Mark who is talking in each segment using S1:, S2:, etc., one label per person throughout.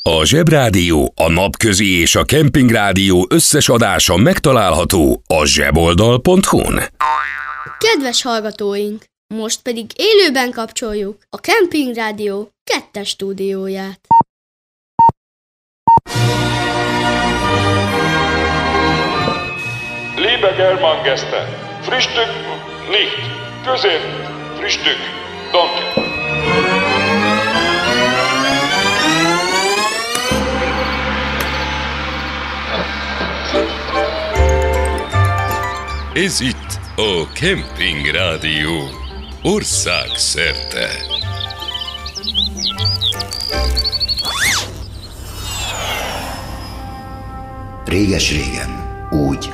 S1: A Zsebrádió, a Napközi és a Kempingrádió összes adása megtalálható a zseboldal.hu-n.
S2: Kedves hallgatóink, most pedig élőben kapcsoljuk a Kempingrádió 2. stúdióját.
S3: Liebe Germangäste, Frühstück nicht, Közép, Frühstück, danke.
S1: Ez itt a Kempingrádió országszerte.
S4: Réges-régen, úgy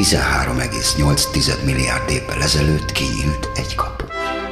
S4: 13,8 milliárd évvel ezelőtt kinyílt egy kapu.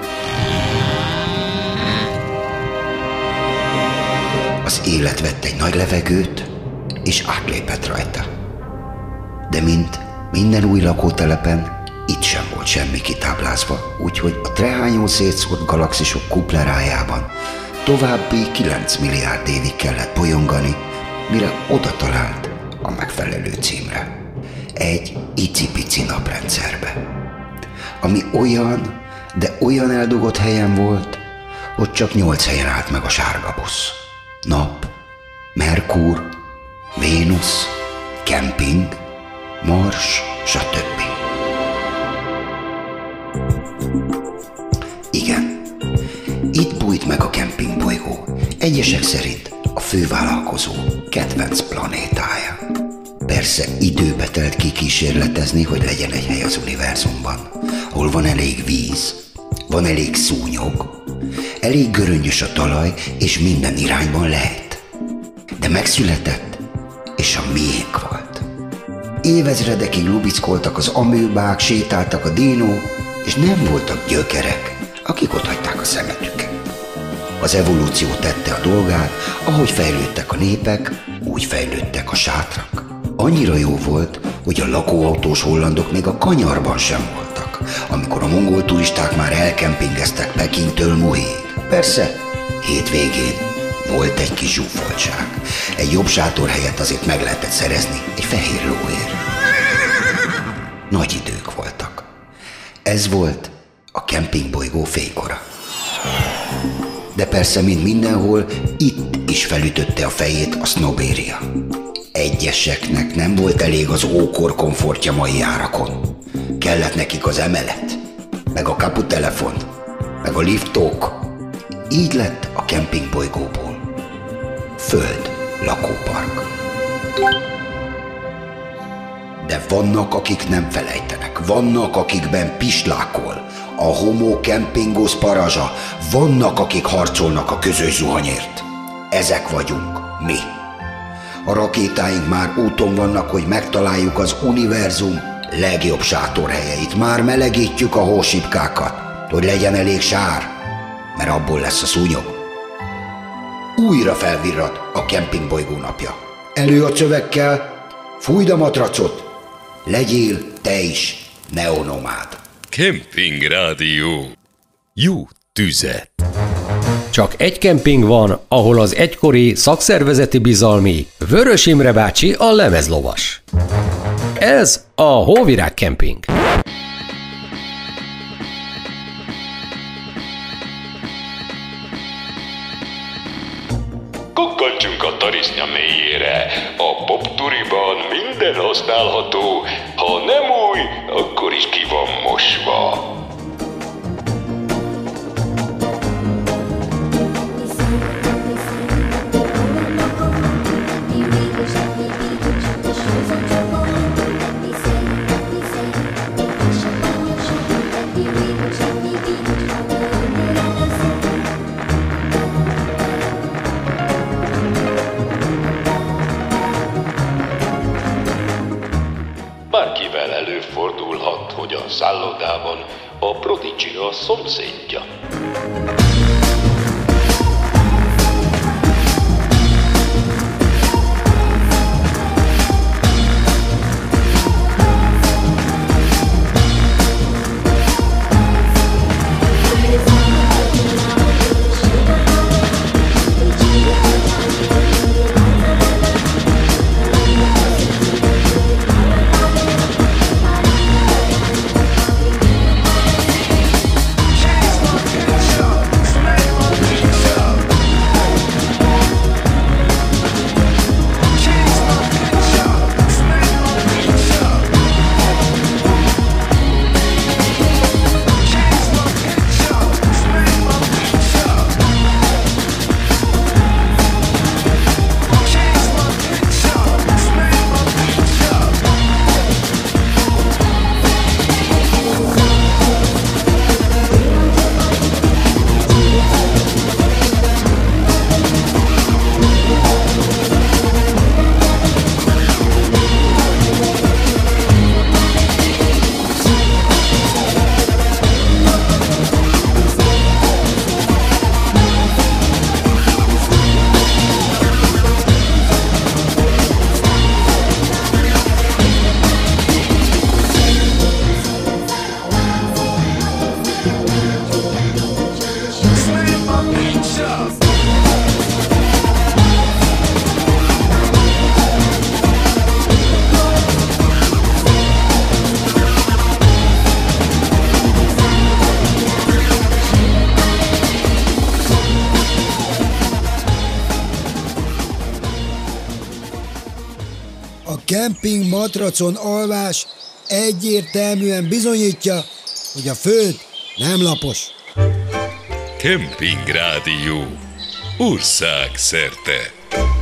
S4: Az élet vett egy nagy levegőt, és átlépett rajta. De mint minden új lakótelepen, itt sem volt semmi kitáblázva, úgyhogy a trehányó szétszórt galaxisok kuplerájában további 9 milliárd évig kellett bolyongani, mire oda talált a megfelelő címre. Egy icipici naprendszerbe, ami olyan, de olyan eldugott helyen volt, hogy csak 8 helyen állt meg a sárga busz. Nap, Merkur, Vénusz, kemping, Mars, stb. Igen, itt bújt meg a kempingbolygó, egyesek szerint a fővállalkozó kedvenc planétája. Persze időbe telt kikísérletezni, hogy legyen egy hely az univerzumban, ahol van elég víz, van elég szúnyog, elég göröngyös a talaj, és minden irányban lehet. De megszületett, és a miénk volt. Évezredekig lubickoltak az amőbák, sétáltak a dinók, és nem voltak gyökerek, akik otthagyták a szemetüket. Az evolúció tette a dolgát, ahogy fejlődtek a népek, úgy fejlődtek a sátrak. Annyira jó volt, hogy a lakóautós hollandok még a kanyarban sem voltak, amikor a mongol turisták már elkempingeztek Pekingtől Muhig. Persze, hétvégén volt egy kis zsúfoltság. Egy jobb sátorhelyet azért meg lehetett szerezni egy fehér lóért. Nagy idők voltak. Ez volt a kempingbolygó fénykora. De persze, mint mindenhol, itt is felütötte a fejét a sznobéria. Egyeseknek nem volt elég az ókor komfortja mai árakon. Kellett nekik az emelet, meg a kaputelefon, meg a liftók. Így lett a kempingbolygóból föld lakópark. De vannak, akik nem felejtenek, vannak, akikben pislákol a homo campingos parazsa, vannak, akik harcolnak a közös zuhanyért. Ezek vagyunk mi. A rakétáink már úton vannak, hogy megtaláljuk az univerzum legjobb sátorhelyeit. Már melegítjük a hósipkákat, hogy legyen elég sár, mert abból lesz a szúnyog. Újra felvirrad a kempingbolygó napja. Elő a csövekkel, fújd a matracot, legyél te is neonomád.
S1: Kempingrádió. Jó tüzet!
S5: Csak egy kemping van, ahol az egykori szakszervezeti bizalmi Vörös Imre bácsi a lemezlovas. Ez a Hóvirág Kemping.
S3: Kukkantsunk a tarisznya mélyére. A popturiban minden használható. Ha nem új, akkor is ki van mosva. Bárkivel előfordulhat, hogy a szállodában a Prodigy a szomszédja.
S6: A kemping matracon alvás egyértelműen bizonyítja, hogy a föld nem lapos.
S3: Kemping Rádió. Országszerte.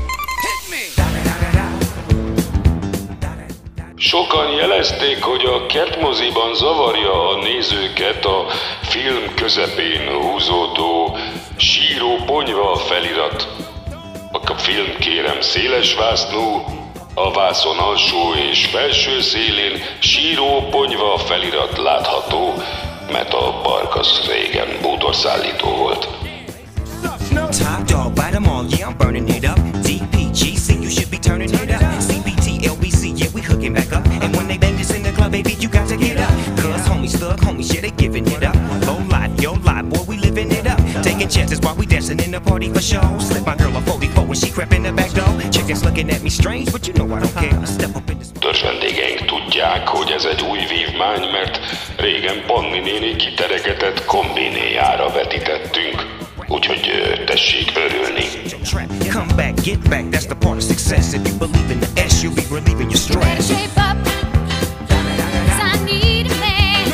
S3: Sokan jelezték, hogy a kertmoziban zavarja a nézőket a film közepén húzódó síró ponyva felirat. A film kérem széles vásznú, a vászon alsó és felső szélén síró ponyva felirat látható, mert a park az régen bútorszállító volt.
S7: Top dog, bite them all, yeah, I'm burning it up. DPGC, you should be turning it up. CBT, LBC, yeah, we hooking back up. And when they bang this in the club, baby, you got to get up. Cause homies, thug homies, yeah, they giving it up. Low life, yo life, boy, we living it up. Taking chances while we dancing in the party for show. Slip my girl a 44 when she crept in the back door. Chickens looking at me strange, but you know I don't care. Step up in this...
S3: Törzs vendégeink tudják, hogy ez egy új vívmány, mert régen Panni néni kiteregetett kombinéjára vetítettünk. Úgyhogy tessék örülni.
S7: Come back, get back, that's the part of success. If you believe in the S, you'll be relieving your stress.
S8: Shape up, 'cause I need a man.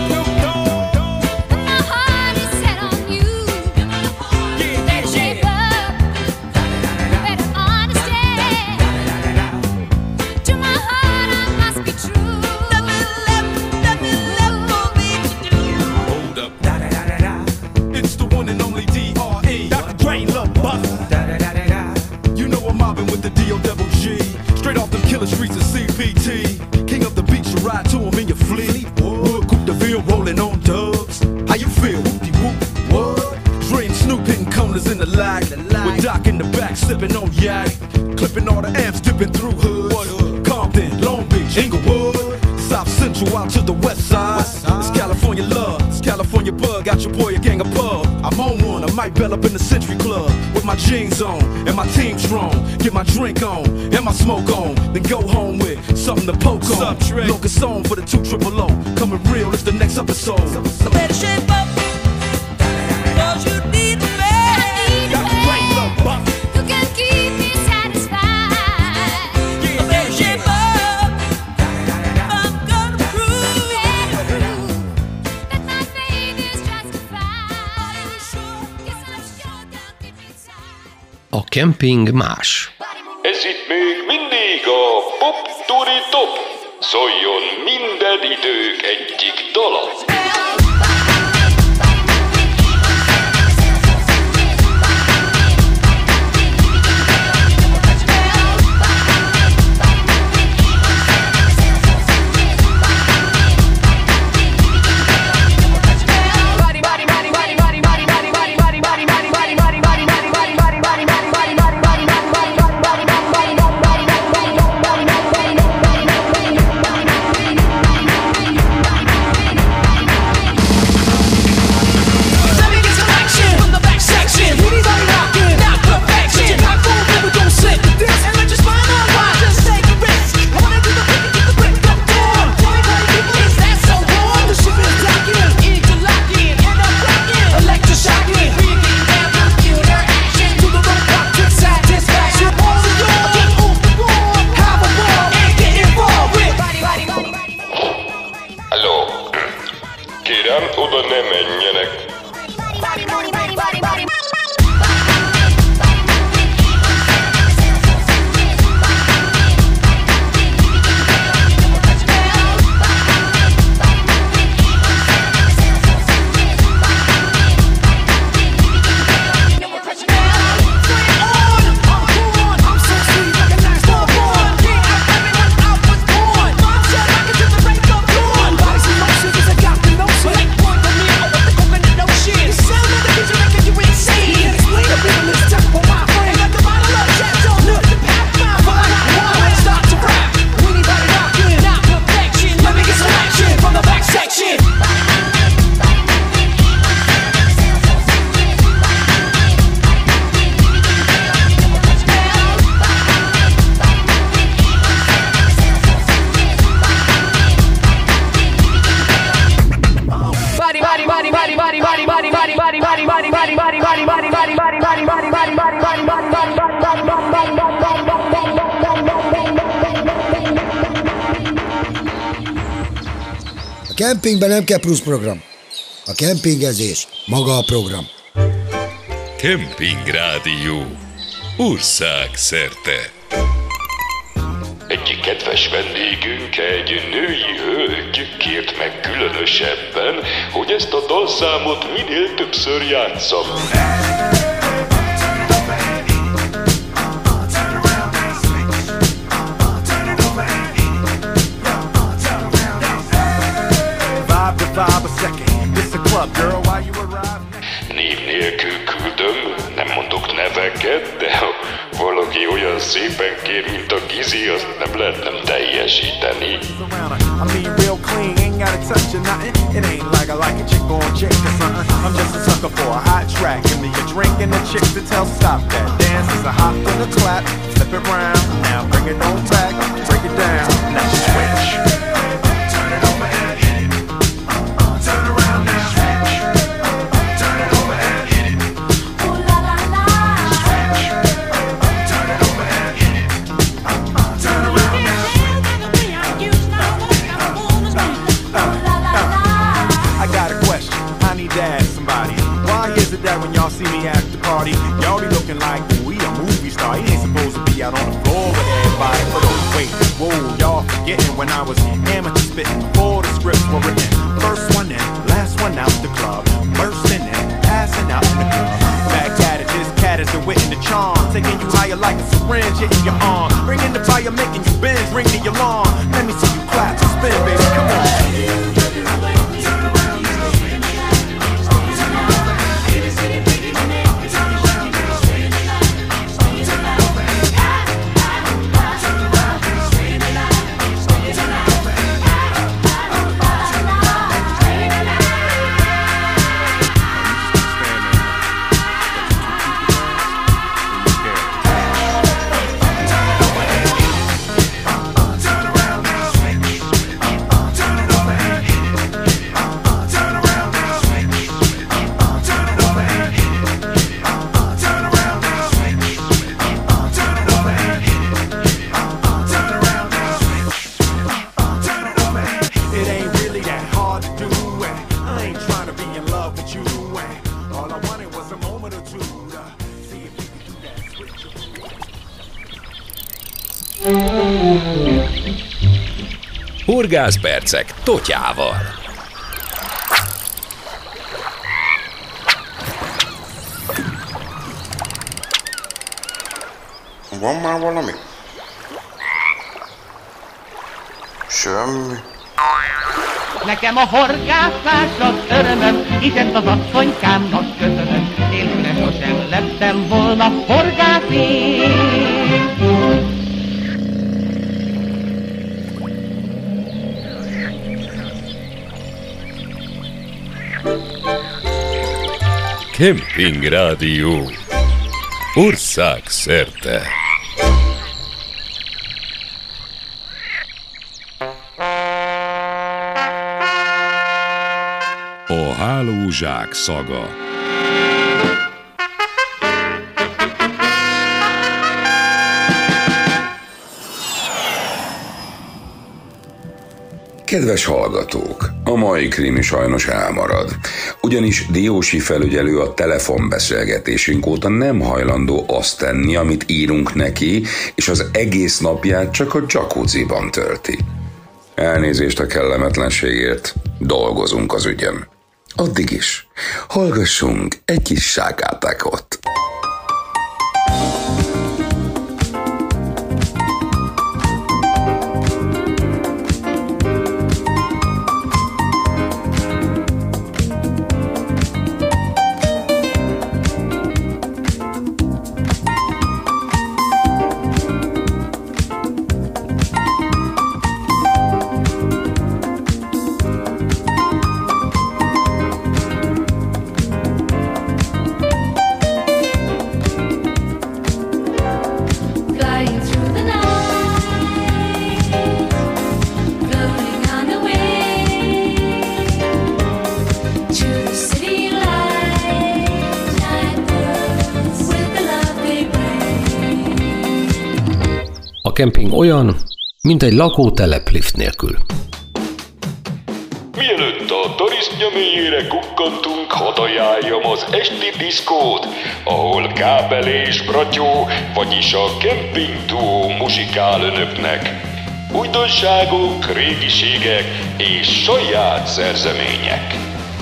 S8: My heart is set on you. Better shape up, better understand. To my heart I must be true. Let me for me to do.
S9: Hold up. It's the one and only D.R.E. Dr. Dre, Lil Buff. You know I'm mobbing with the D.O.G. Straight off them killer streets of CPT. King of the beach, you ride to him in your fleet. Wood Coupe de Ville rolling on dubs. How you feel? Whoop-de-whoop, what? Dre and Snoop hitting corners in the lag. With Doc in the back sipping on yak. Clipping all the amps, dipping through hood. Compton, Long Beach, Inglewood. South Central out to the west side. It's California love, it's California bug. Got your boy a gang of pub. I'm on one, I might bell up in the Century Club with my jeans on and my team strong. Get my drink on and my smoke on, then go home with something to poke on. Locust on for the 200. Coming real, it's the next episode.
S8: Better shape up, 'cause you need a man.
S9: Dr. Dre, Lil Buff.
S8: Who can keep me satisfied. Better shape up, I'm gonna prove that my faith is justified. Yes, I'm sure they'll keep me tight.
S5: A kemping más.
S3: Ez itt még mindig a Pop Turi Top. Szóljon minden idők egyik dala.
S6: A kempingben nem kell plusz program. A kempingezés maga a program.
S1: Kemping Rádió. Ország szerte.
S3: Egyik kedves vendégünk, egy női hölgy kért meg különösebben, hogy ezt a dalszámot minél többször játsszam. Név nélkül küldöm, nem mondok neveket, de ha valaki olyan szépen kér, mint a Gizi, azt nem lehet nem teljesíteni.
S9: I mean real clean, ain't gotta touch or nothing. It ain't like I like a chick on chick or something. I'm just a sucker for a hot track. Give me a drink and a chick to tell stop that. Dance is a hop and a clap, flip it round. Now bring it on back, break it down. Now switch. Turn it over and hit it. Turn around now. Switch. Turn it over and hit it. Ooh la la la. Switch. Turn it over and hit it. Turn around now. I got a question, I need to ask somebody. Why is it that when y'all see me at the party, y'all be looking like, ooh, he a movie star. He ain't supposed to be out on the floor with everybody. But oh, wait, whoa, y'all forgetting when I was amateur spitting before the scripts were written. First one in, last one out the club. Bursting in, passing out in the club. Back at it, this cat is the wit and the charm. Taking you higher like a syringe hitting your arm. Bringing the fire, making you bend, ring the alarm. Let me see you clap and spin, baby, come on.
S1: Horgászpercek Totyával.
S10: Van már valami? Semmi.
S11: Nekem a horgászás az örömöm, és ezt az asszonykámnak köszönöm. Nélküle sosem lettem volna horgász én.
S1: Kemping Rádió. Ország szerte. A hálózsák szaga.
S12: Kedves hallgatók, a mai krimi sajnos elmarad, ugyanis Diósi felügyelő a telefonbeszélgetésünk óta nem hajlandó azt tenni, amit írunk neki, és az egész napját csak a jacuzziban tölti. Elnézést a kellemetlenségért, dolgozunk az ügyem. Addig is, hallgassunk egy kis sákátákot.
S5: A kemping olyan, mint egy lakótelep lift nélkül.
S3: Milyen a tarisztja mélyére kukkantunk, hadd ajánljam az esti diszkót, ahol Kábel és Bratyó, vagyis a Camping Duo muzsikál önöknek. Újdonságok, régiségek és saját szerzemények.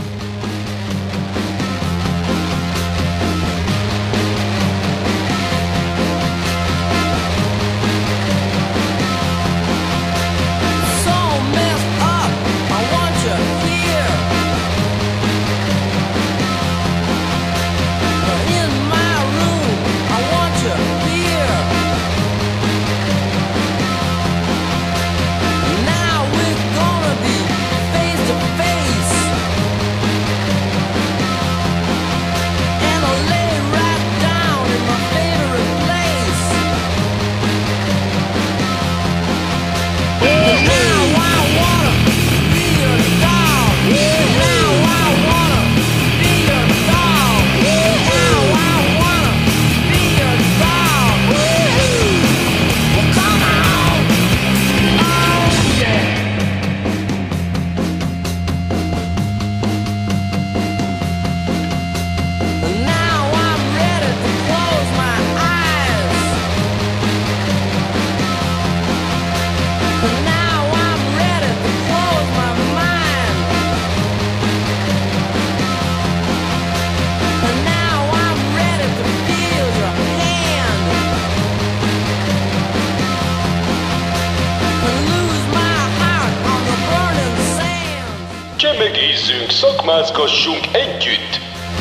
S3: Csemegézzünk, szakmázgassunk együtt!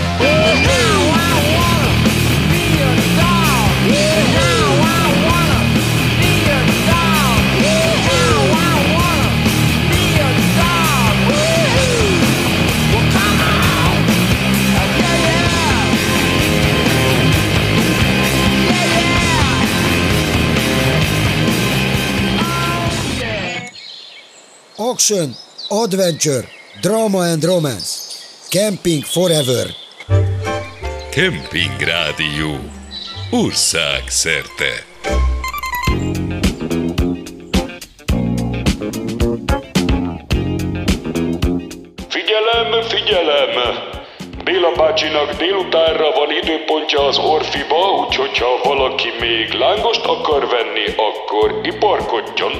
S6: Action, adventure, drama and romance. Camping forever.
S1: Camping Rádió. Ország szerte.
S3: Figyelem, figyelem! Béla bácsinak délutánra van időpontja az Orfiba, úgyhogy ha valaki még lángost akar venni, akkor iparkodjon.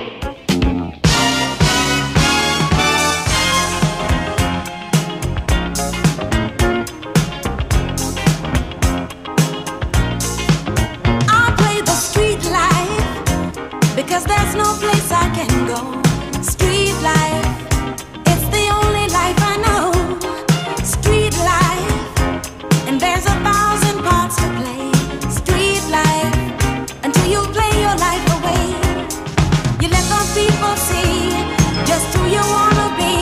S8: Because there's no place I can go. Street life, it's the only life I know. Street life, and there's 1,000 parts to play. Street life, until you play your life away. You let the people see just who you wanna be,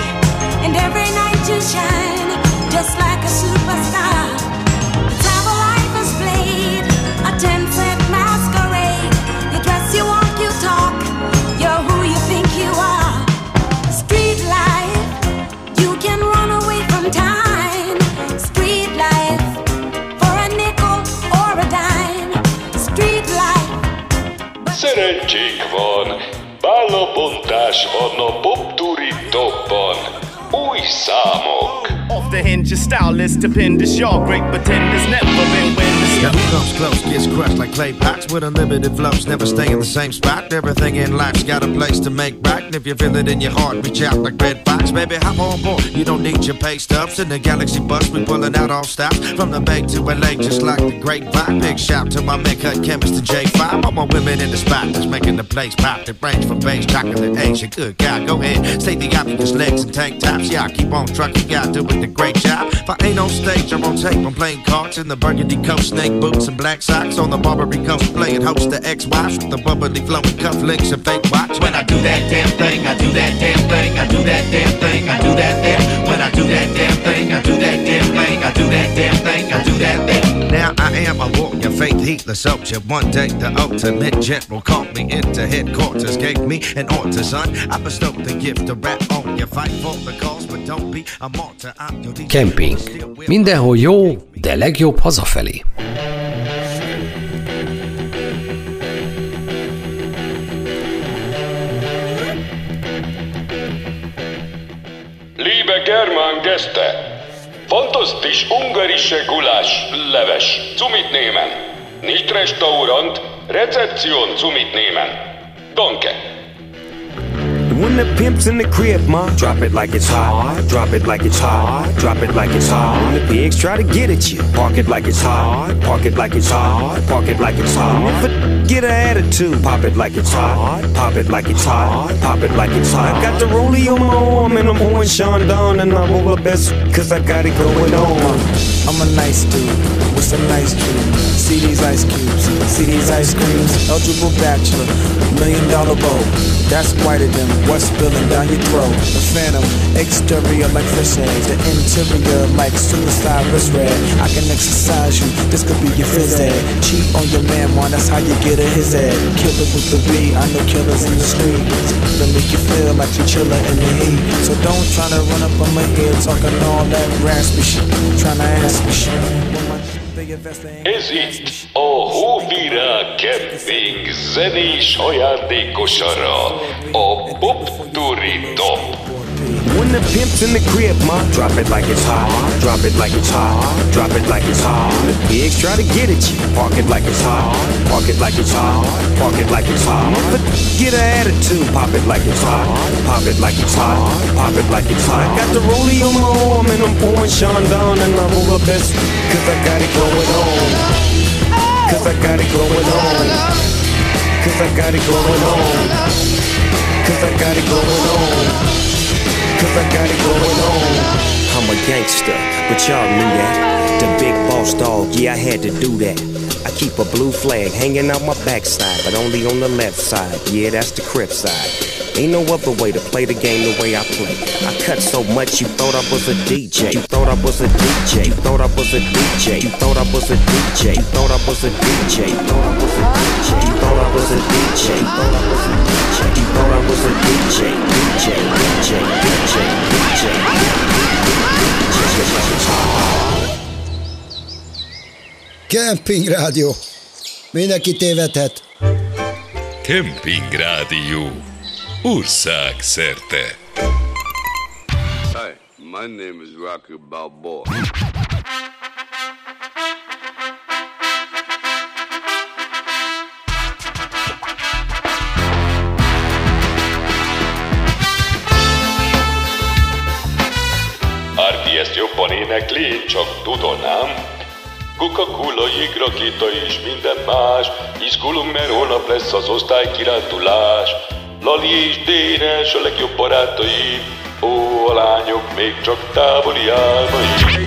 S8: and every night you shine just like a superstar. It's how the life is played, a 10-cent masquerade. You dress, you walk, you talk, you're who you think you are. Street life, you can run away from time. Street life, for a nickel or a dime. Street life.
S3: Szerencsék van, bálabontás van a Popturi Topban. Új számok.
S10: Off the hinge, your style is stupendous. Y'all great pretenders, never been winners.
S13: Now who comes close gets crushed like clay pots with unlimited flows. Never stay in the same spot. Everything in life's got a place to make right. And if you feel it in your heart, reach out like Red Fox. Baby, hop on board. You don't need your pay stubs. In the Galaxy bus, we pulling out all stops. From the Bay to LA, just like the grapevine. Big shout to my man, cut chemist to J5. All my women in the spot that's making the place pop. That range from base, chocolate, Asia. Good guy, go ahead. State the obvious, legs and tank tops. Yeah, I keep on trucking, gotta do it a great job. If I ain't on stage, I'm on tape. I'm playing cards in the burgundy coat, snake boots and black socks on the Barbary coast, playing host to ex-wives with the bubbly flowing cufflinks and fake watch. When I do that damn thing, I do that damn thing, I do that damn thing, I do that damn. When I do that damn thing, I do that damn thing, I do that damn thing, I do that damn. Now I am a warrior, faith heatless soldier. One day the ultimate general called me into headquarters, gave me an order, son. I bestowed the gift to rap on you, fight for the cause, but don't be a martyr. I'm your
S5: Camping. Mindenhol jó, de legjobb hazafelé.
S3: Liebe este. Fantastisch ungarische Gulasch, leves, zu mitnehmen. Nicht Restaurant, Rezeption zu mitnehmen. Danke.
S7: When the pimp's in the crib, ma, drop it like it's hot. Drop it like it's hot. Drop it like it's hot. When the pigs try to get at you, park it like it's hot. Park it like it's hot. Park it like it's hot. If a get an attitude, pop it like it's hot. Pop it like it's hot. Pop it like it's hot. Got the rollie on my arm and I'm pouring Sean down and I'm over best cause I got it going on.
S14: I'm a nice dude with some nice dreams. See these ice cubes, see these ice creams. Eligible bachelor, $1 million bow. That's whiter than what's spilling down your throat. The phantom, exterior like fish eggs. The interior like suicide wrist red. I can exercise you, this could be your phys ed. Cheat on your man, man, that's how you get a his head. Killer with the B, I know killers in the streets. They make you feel like you're chillin' in the heat. So don't try to run up on my head talking all that raspy shit. Tryna ask me shit.
S3: Ez itt a Hóvirág Camping zenés ajándékosara, a Pop Turi Top.
S7: When the pimp's in the crib, ma, drop it like it's hot. Drop it like it's hot. Drop it like it's hot. The pigs try to get at you, park it like it's hot. Park it like it's hot. Park it like it's hot. But get an attitude, pop it like it's hot. Pop it like it's hot. Pop it like it's hot. Got the rollie on my arm and I'm pouring Sean down and I'm over best cause I got it going on. Cause I got it going on. Cause I got it going on. Cause I got it going on. Cause I got it going on. I'm a gangster, but y'all knew that. The big boss dog, yeah, I had to do that. I keep a blue flag hanging out my backside, but only on the left side. Yeah, that's the Crip side. Ain't no other way to play the game the way I play. I cut so much you thought I was a DJ. You thought I was a DJ. You thought I was a DJ. You thought I was a DJ. You thought I was a DJ. You thought I was a DJ. You thought I was a DJ. You thought I was a DJ. You thought I was a DJ. DJ. DJ. DJ.
S6: Camping Rádió. Mindenki tévedhet.
S1: Camping Rádió. Ország szerte.
S15: Hi, my name is Rocky Balboa.
S3: Árpi ezt jobban énekli, csak tudanám. Coca-Cola, jégrakéta és minden más. Izgulunk, mert holnap lesz az osztálykirándulás. Lali és Dénes a legjobb barátaim. Ó, a lányok még csak távoli álmaim.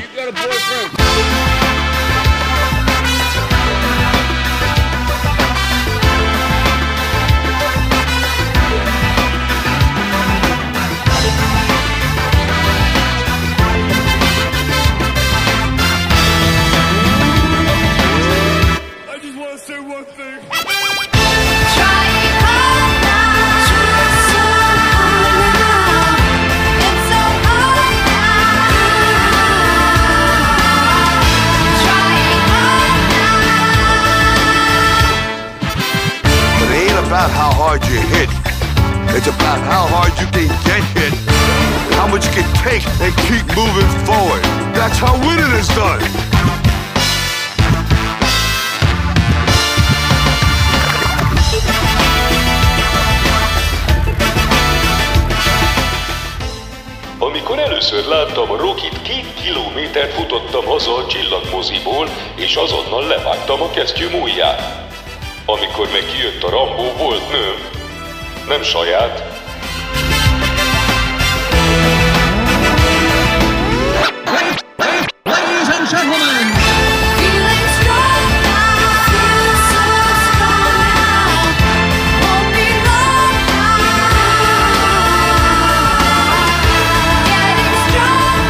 S15: About how hard you hit. It's about how hard you can get hit. How much you can take and keep moving forward. That's how winning is done.
S3: Amikor először láttam a Rockit, 2 kilométert futottam haza a csillagmoziból, és azonnal levágtam a kesztyűm ujját. Amikor meg kijött a Rambó, volt nőm. Nem saját.
S11: Ladies and gentlemen,
S8: Feeling strong now, feel so strong now. Won't be long now. Getting strong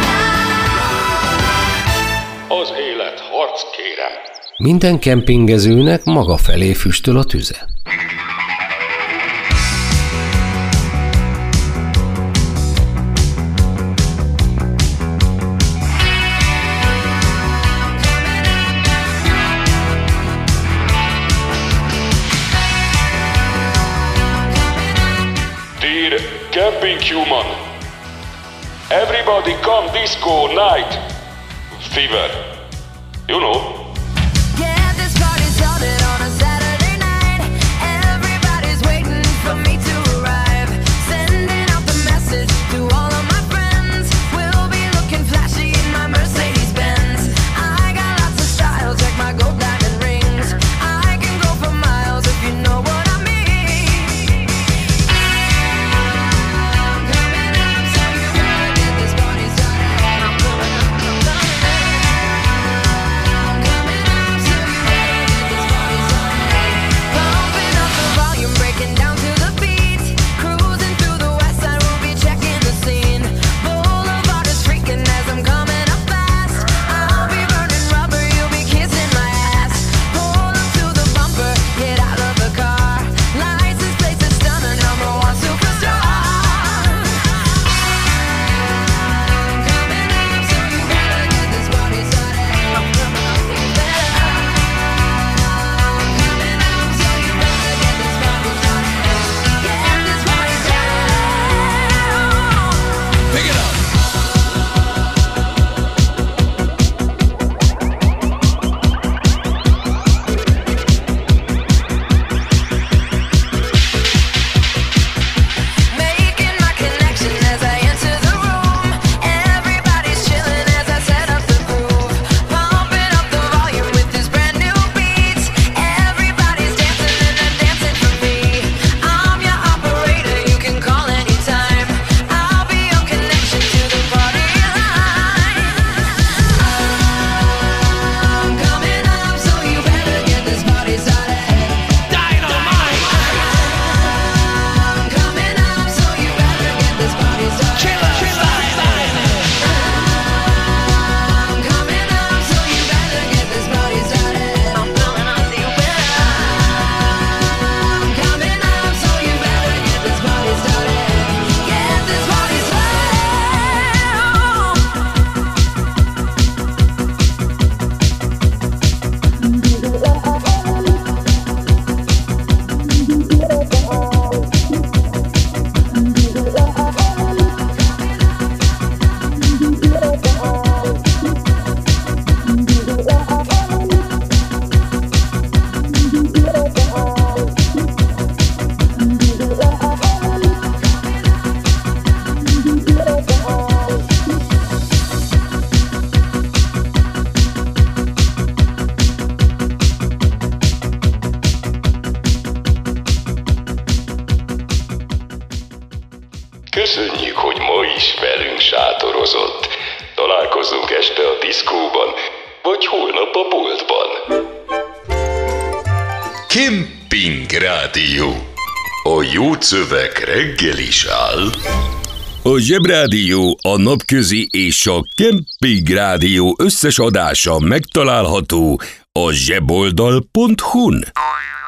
S8: now.
S3: Az élet harc, kérem.
S5: Minden kempingezőnek maga felé füstöl a tüze.
S3: Dear Camping Human, Everybody come disco night. Fever. You know.
S8: Yeah, this party started on a Saturday night. Everybody's waiting for me to arrive. Sending out the message to all of my friends. We'll be looking flashy in my Mercedes Benz. I got lots of style, check my gold diamond rings. I can go for miles if you know what I mean. I'm coming up, so you better get this party started. I'm coming up, I'm coming up. I'm coming up, so you better get this party started. Pumping up the volume, breaking down to the beat. Cruising through the west side, we'll be checking the scene. Boulevard is freaking as I'm coming up fast. I'll be burning rubber, you'll be kissing my ass. Pull up to the bumper, get out of the car. License plates are stunning, number one superstar. I'm coming up, so you better get this party started. I'm coming up, so you better. I'm coming up, so you better get this party started. Get this party started.
S1: Pick it up.
S8: Making my connection as I enter the room. Everybody's chilling as I set up the groove. Pumping up the volume with this brand new beat. Everybody's dancing and they're dancing for me. I'm your operator, you can call anytime. I'll be your connection to the party line. I'm coming up, so you better get this party started. Dynamite! I'm coming up, so you better get this party started. I'm coming up, so you better get this party started. I'm coming up, so you better. I'm coming up, so you better get this party started. Get this party
S3: Köszönjük, hogy ma is velünk sátorozott. Találkozunk este a diszkóban, vagy holnap a boltban. Kemping Rádió. A jó szöveg reggel is áll.
S1: A Zsebrádió, a Napközi és a Kemping Rádió összes adása megtalálható a zseboldal.hu-n.